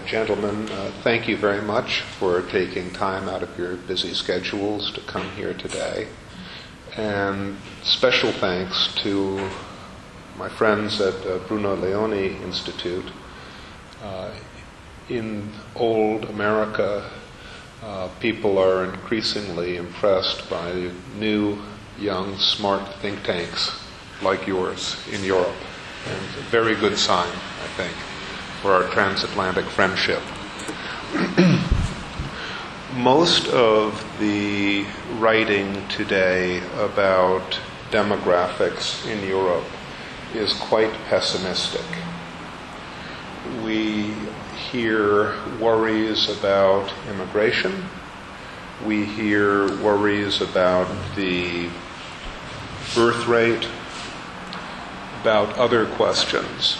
Gentlemen, thank you very much for taking time out of your busy schedules to come here today. And special thanks to my friends at Bruno Leoni Institute. In old America, people are increasingly impressed by new, young, smart think tanks like yours in Europe. And it's a very good sign, I think, for our transatlantic friendship. Most of the writing today about demographics in Europe is quite pessimistic. We hear worries about immigration. We hear worries about the birth rate, about other questions.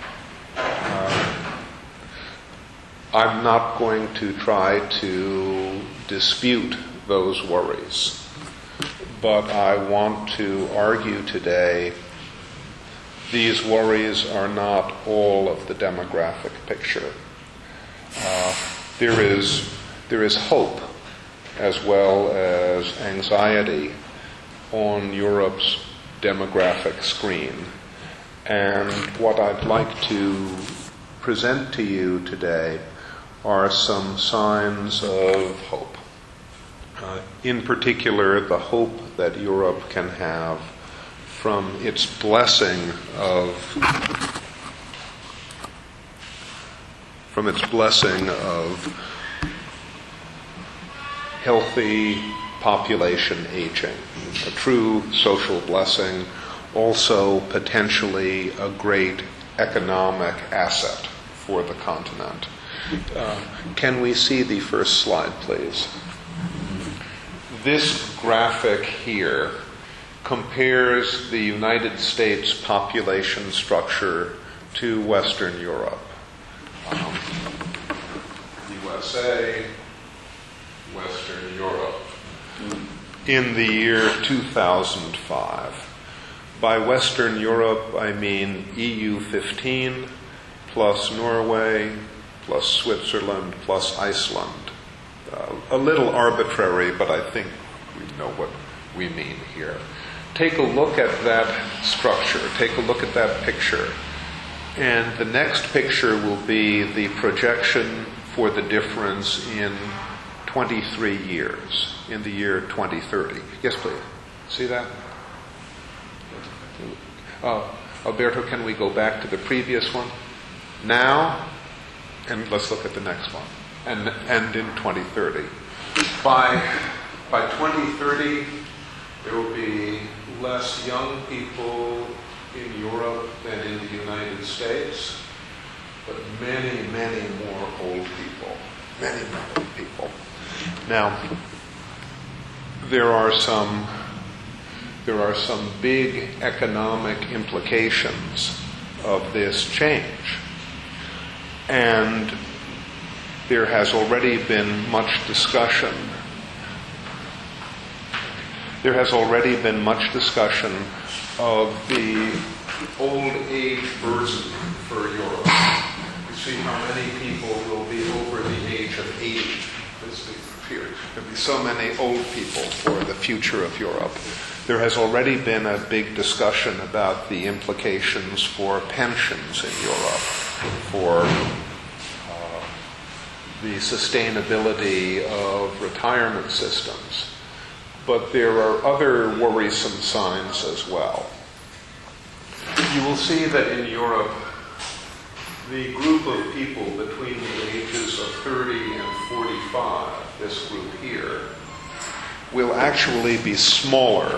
I'm not going to try to dispute those worries, but I want to argue today these worries are not all of the demographic picture. There is hope as well as anxiety on Europe's demographic screen. And what I'd like to present to you today are some signs of hope. In particular, the hope that Europe can have from its blessing of healthy population aging, a true social blessing, also potentially a great economic asset for the continent. Can we see the first slide, please? This graphic here compares the United States population structure to Western Europe. USA, Western Europe, in the year 2005. By Western Europe, I mean EU 15 plus Norway plus Switzerland plus Iceland. A little arbitrary, but I think we know what we mean here. Take a look at that structure. Take a look at that picture. And the next picture will be the projection for the difference in 23 years, in the year 2030. Yes, please. See that? Alberto, can we go back to the previous one? Now, and let's look at the next one. And in 2030. By 2030, there will be less young people in Europe than in the United States, but many, many more old people. Many more old people. Now, there are some big economic implications of this change. And there has already been much discussion. There has already been much discussion of the old age burden for Europe. You see how many people will be over the age of 80. There will be so many old people for the future of Europe. There has already been a big discussion about the implications for pensions in Europe, for the sustainability of retirement systems. But there are other worrisome signs as well. You will see that in Europe, the group of people between the ages of 30 and 45, this group here, will actually be smaller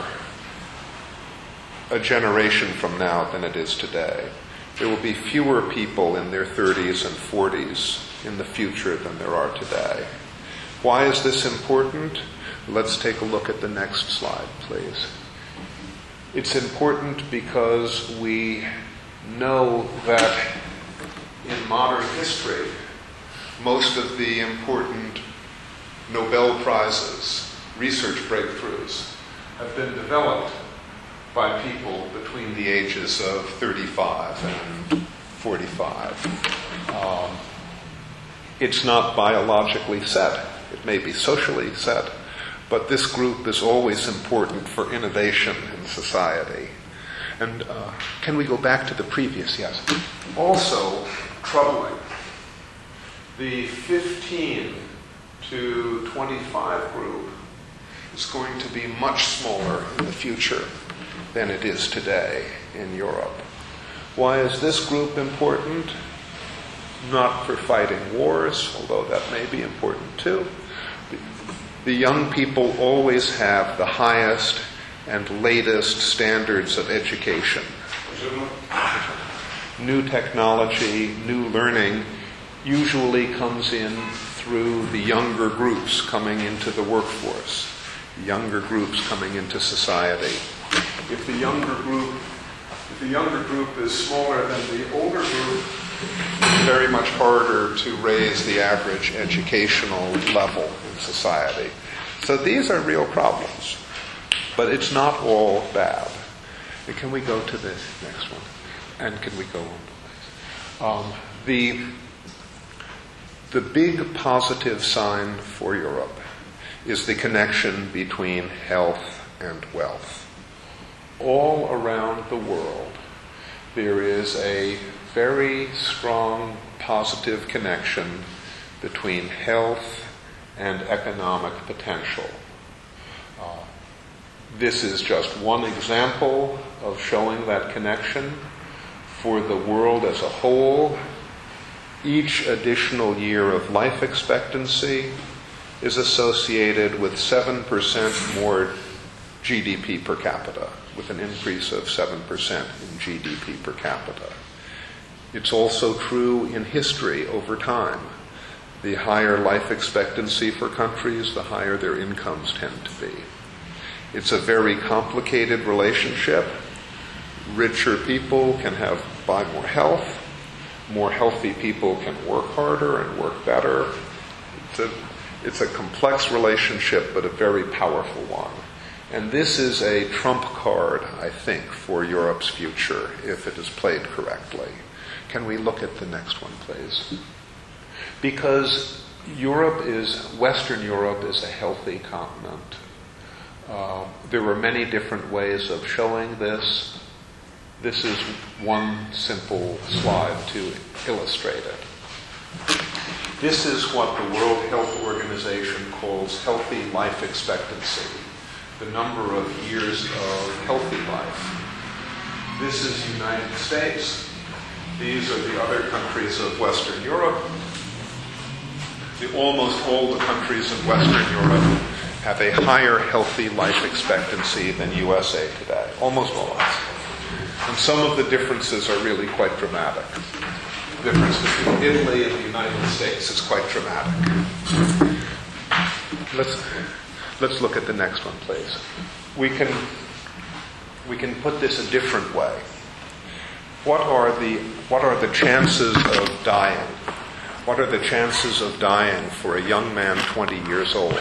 a generation from now than it is today. There will be fewer people in their 30s and 40s in the future than there are today. Why is this important? Let's take a look at the next slide, please. It's important because we know that in modern history, most of the important Nobel Prizes, research breakthroughs, have been developed by people between the ages of 35 and 45. It's not biologically set. It may be socially set, but this group is always important for innovation in society. And can we go back to the previous? Yes. Also troubling, the 15 to 25 group is going to be much smaller in the future than it is today in Europe. Why is this group important? Not for fighting wars, although that may be important too. The young people always have the highest and latest standards of education. New technology, new learning usually comes in through the younger groups coming into the workforce, younger groups coming into society. If the younger group is smaller than the older group, it's very much harder to raise the average educational level in society. So these are real problems, but it's not all bad. And can we go to the next one? And can we go on, please? The big positive sign for Europe is the connection between health and wealth. All around the world, there is a very strong positive connection between health and economic potential. This is just one example of showing that connection. For the world as a whole, each additional year of life expectancy is associated with 7% more GDP per capita, with an increase of 7% in GDP per capita. It's also true in history over time. The higher life expectancy for countries, the higher their incomes tend to be. It's a very complicated relationship. Richer people can buy more health. More healthy people can work harder and work better. It's a complex relationship, but a very powerful one. And this is a trump card, I think, for Europe's future, if it is played correctly. Can we look at the next one, please? Because Western Europe is a healthy continent. There are many different ways of showing this. This is one simple slide to illustrate it. This is what the World Health Organization calls healthy life expectancy, the number of years of healthy life. This is the United States. These are the other countries of Western Europe. Almost all the countries in Western Europe have a higher healthy life expectancy than USA today. Almost all of us. And some of the differences are really quite dramatic. The difference between Italy and the United States is quite dramatic. Let's look at the next one, please. We can put this a different way. What are the chances of dying? What are the chances of dying for a young man 20 years old?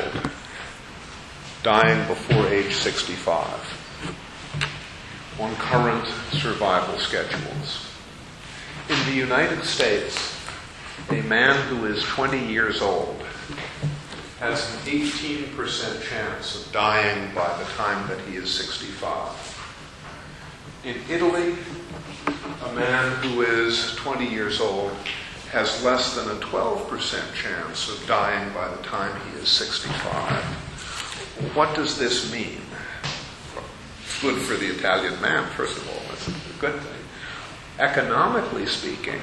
Dying before age 65 on current survival schedules. In the United States, a man who is 20 years old has an 18% chance of dying by the time that he is 65. In Italy, a man who is 20 years old has less than a 12% chance of dying by the time he is 65. What does this mean? It's good for the Italian man, first of all. That's a good thing. Economically speaking,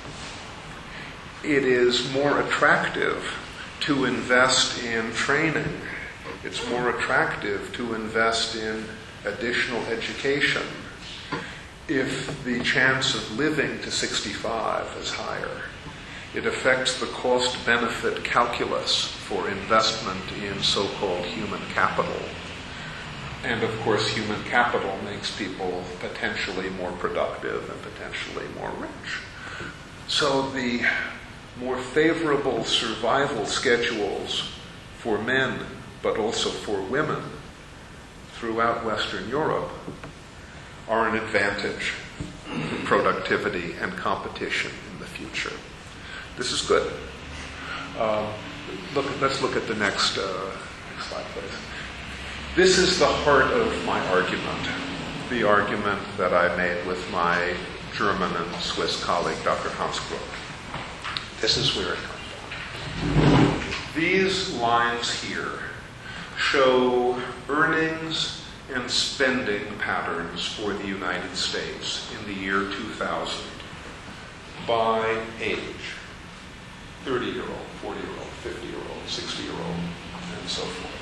it is more attractive to invest in training. It's more attractive to invest in additional education if the chance of living to 65 is higher. It affects the cost-benefit calculus for investment in so-called human capital. And of course, human capital makes people potentially more productive and potentially more rich. So the more favorable survival schedules for men, but also for women throughout Western Europe are an advantage for productivity and competition in the future. This is good. Let's look at the next slide, please. This is the heart of my argument, the argument that I made with my German and Swiss colleague, Dr. Hans Groth. This is where it comes from. These lines here show earnings and spending patterns for the United States in the year 2000 by age. 30-year-old, 40-year-old, 50-year-old, 60-year-old, and so forth.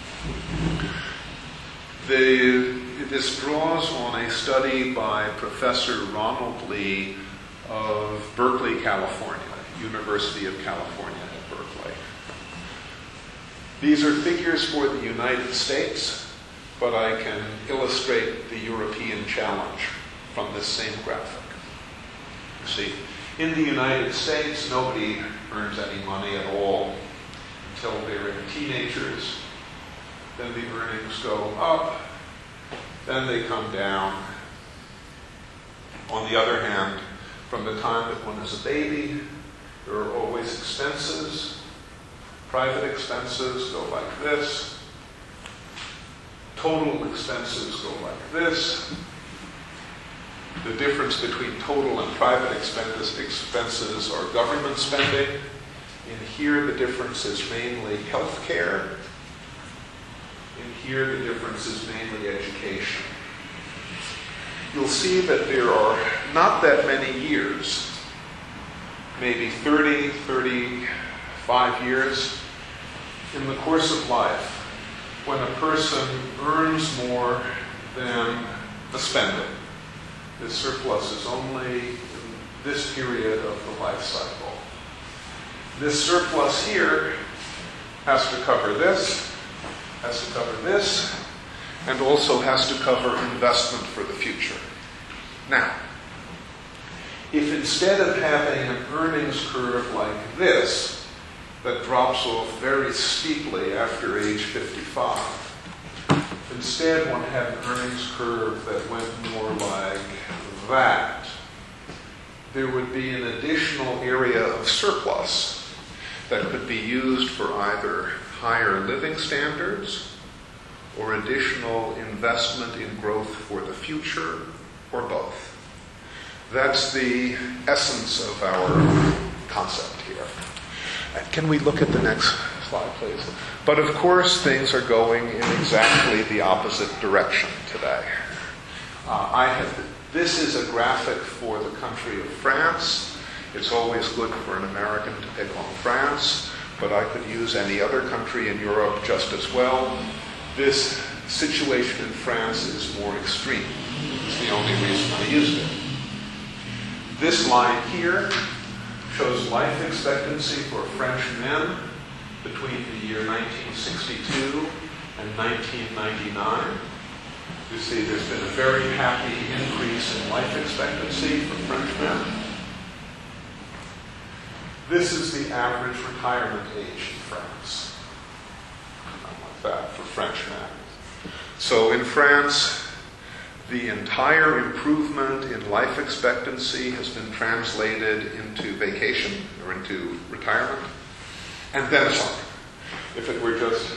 This draws on a study by Professor Ronald Lee of Berkeley, California, University of California at Berkeley. These are figures for the United States, but I can illustrate the European challenge from this same graphic. You see, in the United States, nobody earns any money at all until they're teenagers. Then the earnings go up, then they come down. On the other hand, from the time that one is a baby, there are always expenses. Private expenses go like this. Total expenses go like this. The difference between total and private expenses are government spending. In here, the difference is mainly health care. In here, the difference is mainly education. You'll see that there are not that many years, maybe 30, 35 years, in the course of life when a person earns more than the spending. The surplus is only in this period of the life cycle. This surplus here has to cover this, has to cover this, and also has to cover investment for the future. Now, if instead of having an earnings curve like this, that drops off very steeply after age 55, instead one had an earnings curve that went more like that, there would be an additional area of surplus that could be used for either higher living standards or additional investment in growth for the future, or both. That's the essence of our concept here. Can we look at the next slide, please? But of course, things are going in exactly the opposite direction today. This is a graphic for the country of France. It's always good for an American to pick on France, but I could use any other country in Europe just as well. This situation in France is more extreme. It's the only reason I used it. This line here shows life expectancy for French men between the year 1962 and 1999. You see there's been a very happy increase in life expectancy for French men. This is the average retirement age in France. Like that for French men. So in France, the entire improvement in life expectancy has been translated into vacation or into retirement, and then some. If it were just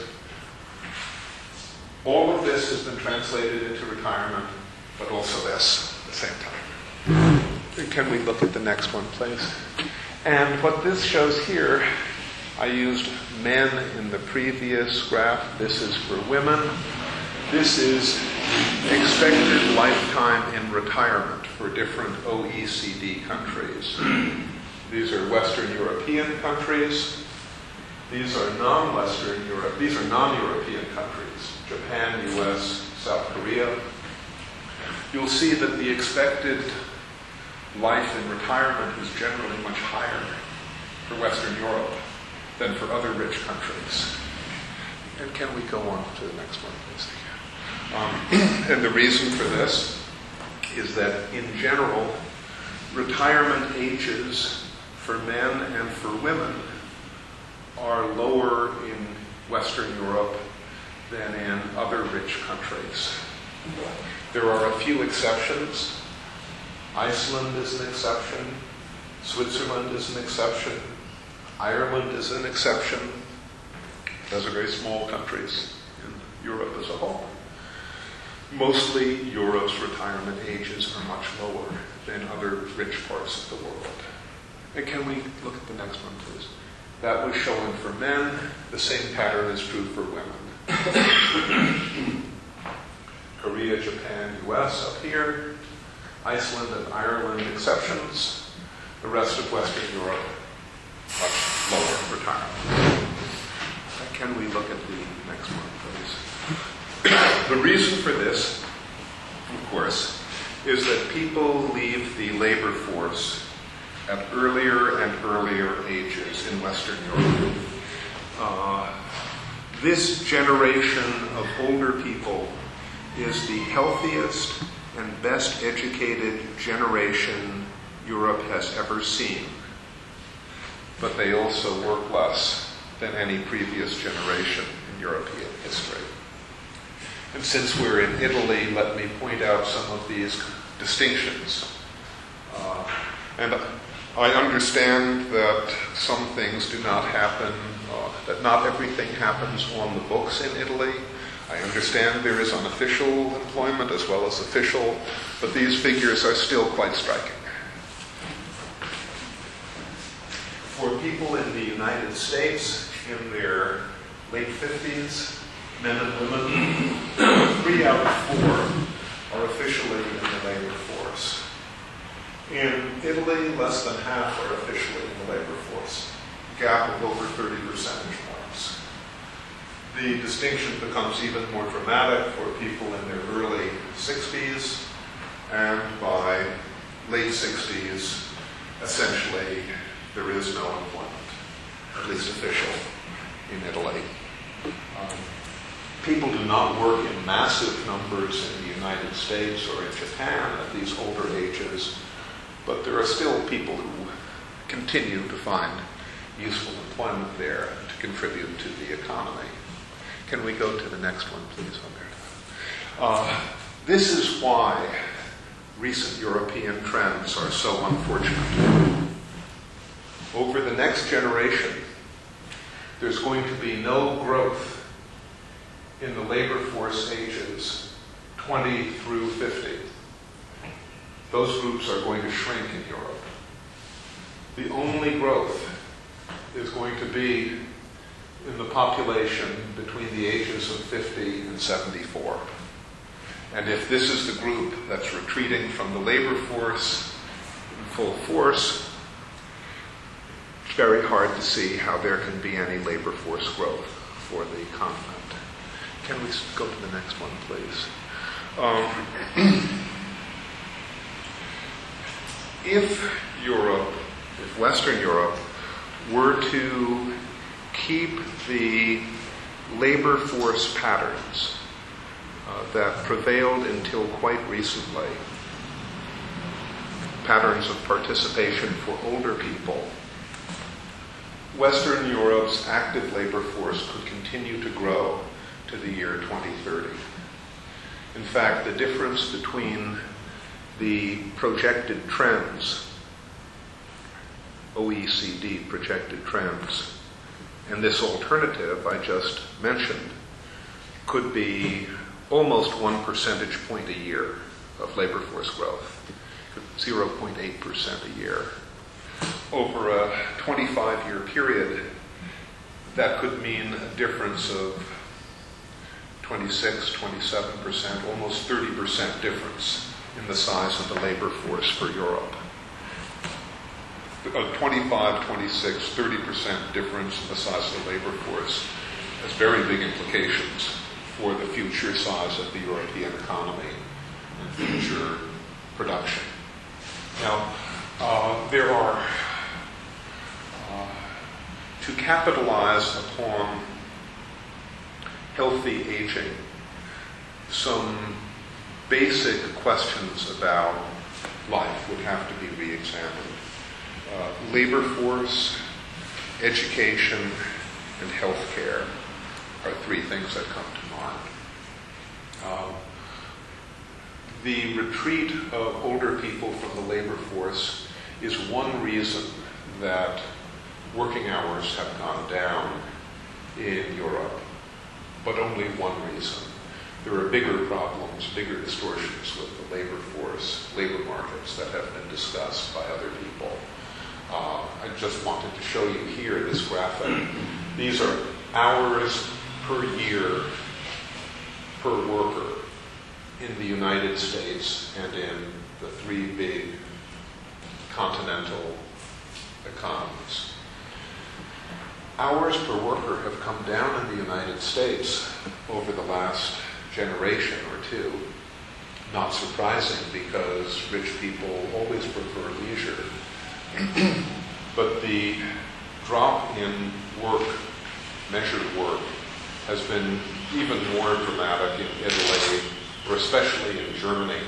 all of this has been translated into retirement, but also this at the same time. Can we look at the next one, please? And what this shows here, I used men in the previous graph. This is for women. This is expected lifetime in retirement for different OECD countries. These are Western European countries. These are non-Western Europe. These are non-European countries. Japan, US, South Korea. You'll see that the expected life in retirement is generally much higher for Western Europe than for other rich countries. And can we go on to the next one, please? And the reason for this is that, in general, retirement ages for men and for women are lower in Western Europe than in other rich countries. There are a few exceptions. Iceland is an exception. Switzerland is an exception. Ireland is an exception. Those are very small countries in Europe as a whole. Mostly, Europe's retirement ages are much lower than other rich parts of the world. And can we look at the next one, please? That was showing for men. The same pattern is true for women. Korea, Japan, US up here. Iceland and Ireland exceptions. The rest of Western Europe, much lower retirement. Can we look at the next one, please? The reason for this, of course, is that people leave the labor force at earlier and earlier ages in Western Europe. This generation of older people is the healthiest and best educated generation Europe has ever seen. But they also work less than any previous generation in European history. And since we're in Italy, let me point out some of these distinctions. And I understand that some things do not happen, that not everything happens on the books in Italy. I understand there is unofficial employment as well as official, but these figures are still quite striking. For people in the United States in their late 50s, men and women, 3 out of 4 are officially in the labor force. In Italy, less than half are officially in the labor force, a gap of over 30 percentage points. The distinction becomes even more dramatic for people in their early 60s, and by late 60s, essentially, there is no employment, at least official, in Italy. People do not work in massive numbers in the United States or in Japan at these older ages, but there are still people who continue to find useful employment there to contribute to the economy. Can we go to the next one, please, Umberto? This is why recent European trends are so unfortunate. Over the next generation, there's going to be no growth in the labor force ages 20 through 50. Those groups are going to shrink in Europe. The only growth is going to be in the population between the ages of 50 and 74. And if this is the group that's retreating from the labor force in full force, it's very hard to see how there can be any labor force growth for the continent. Can we go to the next one, please? If Western Europe were to keep the labor force patterns that prevailed until quite recently, patterns of participation for older people, Western Europe's active labor force could continue to grow to the year 2030. In fact, the difference between the projected trends, OECD projected trends, and this alternative I just mentioned could be almost 1 percentage point a year of labor force growth, 0.8% a year. Over a 25-year period, that could mean a difference of 26, 27%, almost 30% difference in the size of the labor force for Europe. A 25, 26, 30% difference in the size of the labor force has very big implications for the future size of the European economy and future production. Now, there are, to capitalize upon healthy aging, some basic questions about life would have to be re-examined. Labor force, education, and healthcare are 3 things that come to mind. The retreat of older people from the labor force is one reason that working hours have gone down in Europe, but only one reason. There are bigger problems, bigger distortions with the labor force, labor markets that have been discussed by other people. I just wanted to show you here this graphic. These are hours per year per worker in the United States and in the three big continental economies. Hours per worker have come down in the United States over the last generation or two. Not surprising, because rich people always prefer leisure. But the drop in work, measured work, has been even more dramatic in Italy, or especially in Germany.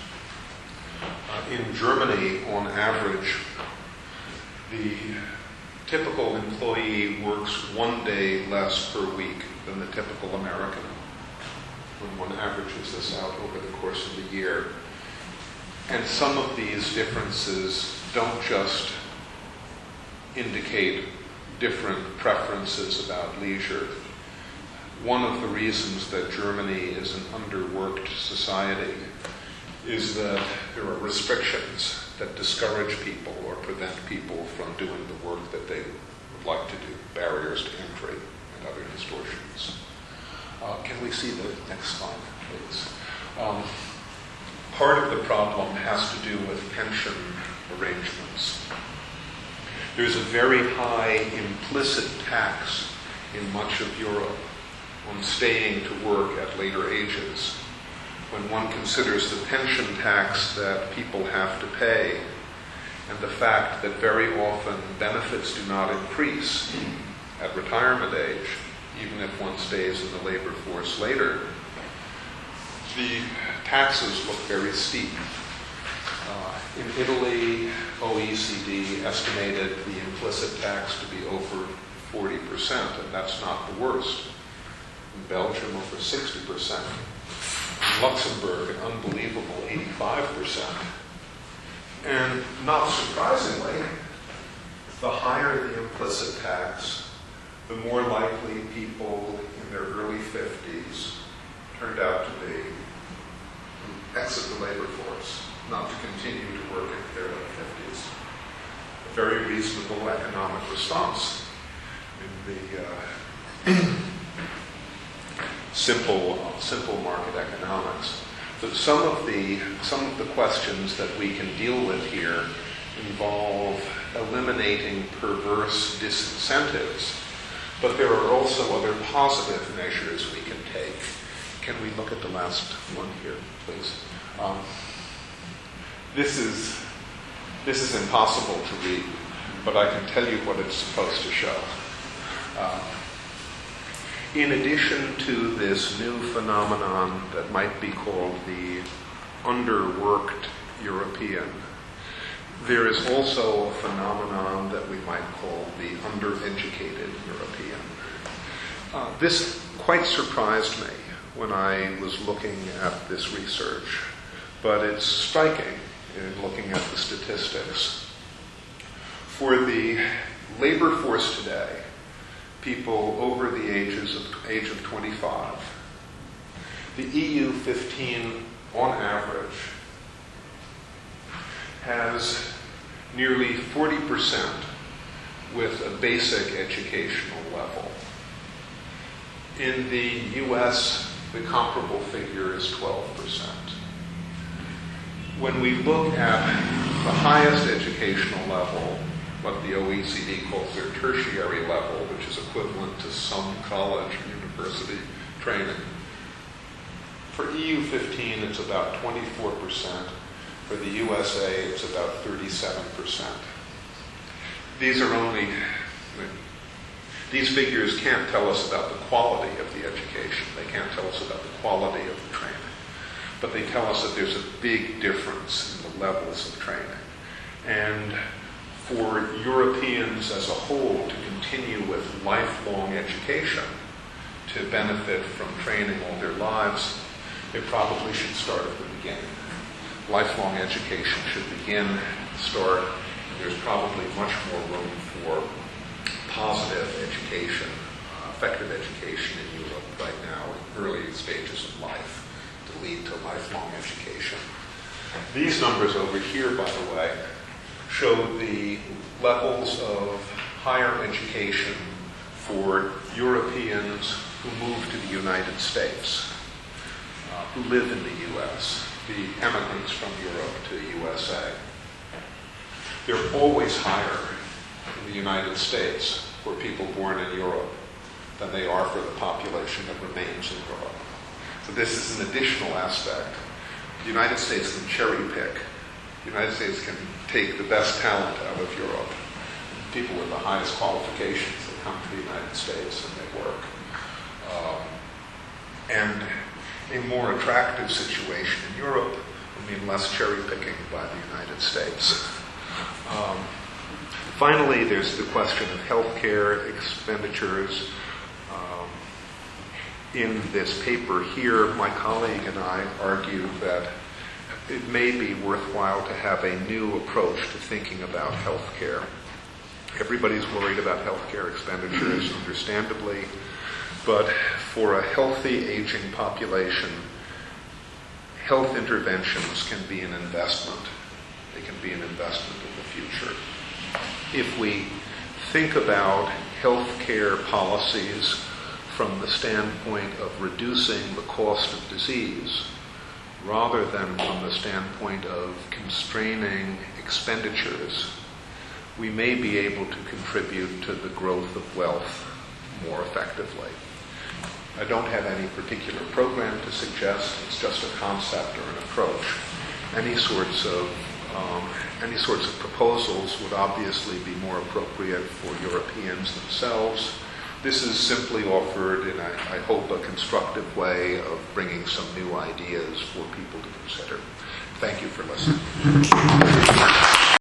In Germany, on average, the typical employee works 1 day less per week than the typical American, when one averages this out over the course of the year. And some of these differences don't just indicate different preferences about leisure. One of the reasons that Germany is an underworked society is that there are restrictions that discourage people or prevent people from doing the work that they would like to do, barriers to entry and other distortions. Can we see the next slide, please? Part of the problem has to do with pension arrangements. There's a very high implicit tax in much of Europe on staying to work at later ages. When one considers the pension tax that people have to pay and the fact that very often benefits do not increase at retirement age, even if one stays in the labor force later, the taxes look very steep. In Italy, OECD estimated the implicit tax to be over 40%, and that's not the worst. In Belgium, over 60%. In Luxembourg, an unbelievable 85%. And not surprisingly, the higher the implicit tax, the more likely people in their early 50s turned out to be who exit the labor force, not to continue to work in their late 50s. A very reasonable economic response in the simple market economics. But some of the questions that we can deal with here involve eliminating perverse disincentives, but there are also other positive measures we can take. Can we look at the last one here, please? This is impossible to read, but I can tell you what it's supposed to show. In addition to this new phenomenon that might be called the underworked European, there is also a phenomenon that we might call the undereducated European. This quite surprised me when I was looking at this research, but it's striking in looking at the statistics. For the labor force today, people over the age of 25, the EU 15 on average has nearly 40% with a basic educational level. In the US, the comparable figure is 12%. When we look at the highest educational level, what the OECD calls their tertiary level, which is equivalent to some college or university training. For EU 15, it's about 24%. For the USA, it's about 37%. These figures can't tell us about the quality of the education. They can't tell us about the quality of the training. But they tell us that there's a big difference in the levels of training. And for Europeans as a whole to continue with lifelong education, to benefit from training all their lives, they probably should start at the beginning. Lifelong education should begin, start, and there's probably much more room for positive education, effective education in Europe right now in early stages of life to lead to lifelong education. These numbers over here, by the way, show the levels of higher education for Europeans who move to the United States, who live in the U.S., the immigrants from Europe to the USA. They're always higher in the United States for people born in Europe than they are for the population that remains in Europe. So this is an additional aspect. The United States can cherry pick. The United States can take the best talent out of Europe. People with the highest qualifications that come to the United States and they work. And a more attractive situation in Europe would mean less cherry picking by the United States. Finally, there's the question of healthcare expenditures. In this paper here, my colleague and I argue that it may be worthwhile to have a new approach to thinking about healthcare. Everybody's worried about healthcare expenditures, understandably, but for a healthy aging population, health interventions can be an investment. They can be an investment in the future. If we think about healthcare policies from the standpoint of reducing the cost of disease, rather than from the standpoint of constraining expenditures, we may be able to contribute to the growth of wealth more effectively. I don't have any particular program to suggest. It's just a concept or an approach. Any sorts of proposals would obviously be more appropriate for Europeans themselves. This is simply offered in, I hope, a constructive way of bringing some new ideas for people to consider. Thank you for listening.